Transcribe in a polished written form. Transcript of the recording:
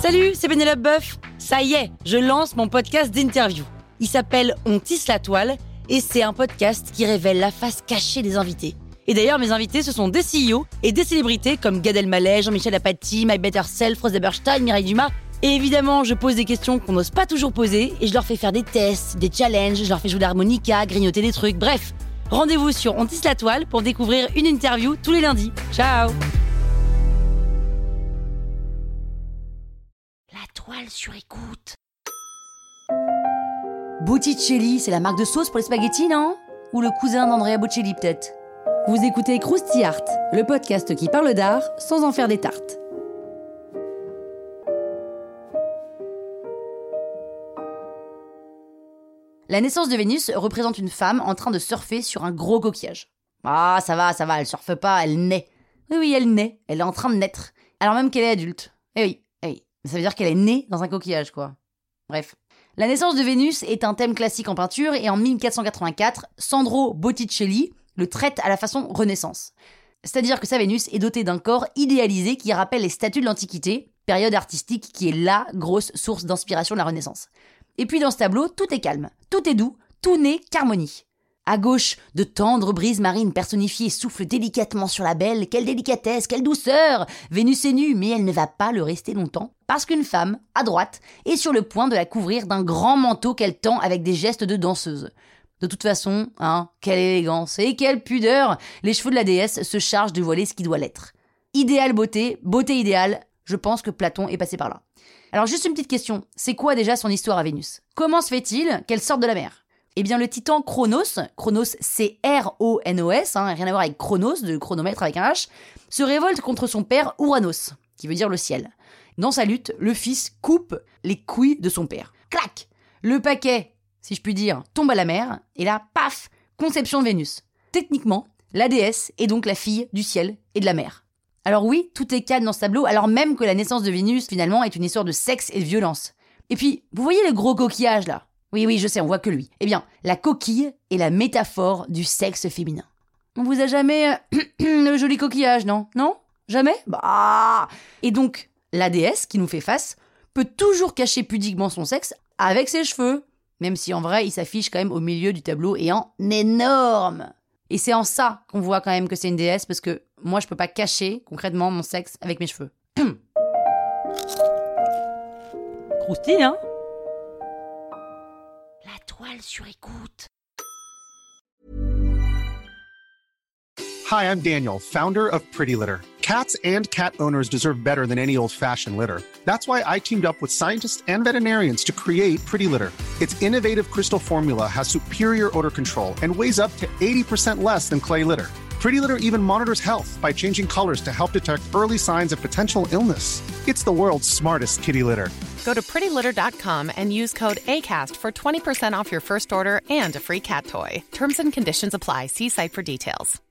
Salut, c'est Pénélope Boeuf. Ça y est, je lance mon podcast d'interview. Il s'appelle On tisse la toile et c'est un podcast qui révèle la face cachée des invités. Et d'ailleurs, mes invités, ce sont des CEO et des célébrités comme Gad Elmaleh, Jean-Michel Apathy, My Better Self, Rose Eberstein, Mireille Dumas. Et évidemment, je pose des questions qu'on n'ose pas toujours poser et je leur fais faire des tests, des challenges, je leur fais jouer de l'harmonica, grignoter des trucs, bref. Rendez-vous sur On tisse la toile pour découvrir une interview tous les lundis. Ciao! La toile sur écoute. Botticelli, c'est la marque de sauce pour les spaghettis, non? Ou le cousin d'Andrea Bocelli, peut-être? Vous écoutez Krusty Art, le podcast qui parle d'art sans en faire des tartes. La naissance de Vénus représente une femme en train de surfer sur un gros coquillage. Ah, ça va, elle surfe pas, elle naît. Oui, elle naît, elle est en train de naître. Alors même qu'elle est adulte. Eh oui. Ça veut dire qu'elle est née dans un coquillage, quoi. Bref. La naissance de Vénus est un thème classique en peinture et en 1484, Sandro Botticelli le traite à la façon Renaissance. C'est-à-dire que sa Vénus est dotée d'un corps idéalisé qui rappelle les statues de l'Antiquité, période artistique qui est la grosse source d'inspiration de la Renaissance. Et puis dans ce tableau, tout est calme, tout est doux, tout n'est qu'harmonie. À gauche, de tendres brises marines personnifiées soufflent délicatement sur la belle. Quelle délicatesse, quelle douceur! Vénus est nue, mais elle ne va pas le rester longtemps, parce qu'une femme, à droite, est sur le point de la couvrir d'un grand manteau qu'elle tend avec des gestes de danseuse. De toute façon, quelle élégance et quelle pudeur! Les cheveux de la déesse se chargent de voiler ce qui doit l'être. Idéale beauté, beauté idéale, je pense que Platon est passé par là. Alors juste une petite question, c'est quoi déjà son histoire à Vénus? Comment se fait-il qu'elle sorte de la mer? Eh bien, le titan Cronos c'est R-O-N-O-S, rien à voir avec Chronos, de chronomètre avec un H, se révolte contre son père Ouranos, qui veut dire le ciel. Dans sa lutte, le fils coupe les couilles de son père. Clac! Le paquet, si je puis dire, tombe à la mer, et là, paf! Conception de Vénus. Techniquement, la déesse est donc la fille du ciel et de la mer. Alors oui, tout est calme dans ce tableau, alors même que la naissance de Vénus, finalement, est une histoire de sexe et de violence. Et puis, vous voyez le gros coquillage, là? Oui, je sais, on voit que lui. Eh bien, la coquille est la métaphore du sexe féminin. On vous a jamais le joli coquillage, non? Non? Jamais? Bah. Et donc, la déesse qui nous fait face peut toujours cacher pudiquement son sexe avec ses cheveux, même si en vrai, il s'affiche quand même au milieu du tableau et en énorme. Et c'est en ça qu'on voit quand même que c'est une déesse, parce que moi, je peux pas cacher concrètement mon sexe avec mes cheveux. Croustille, hein? La toile sur écoute. Hi, I'm Daniel, founder of Pretty Litter. Cats and cat owners deserve better than any old-fashioned litter. That's why I teamed up with scientists and veterinarians to create Pretty Litter. Its innovative crystal formula has superior odor control and weighs up to 80% less than clay litter. Pretty Litter even monitors health by changing colors to help detect early signs of potential illness. It's the world's smartest kitty litter. Go to prettylitter.com and use code ACAST for 20% off your first order and a free cat toy. Terms and conditions apply. See site for details.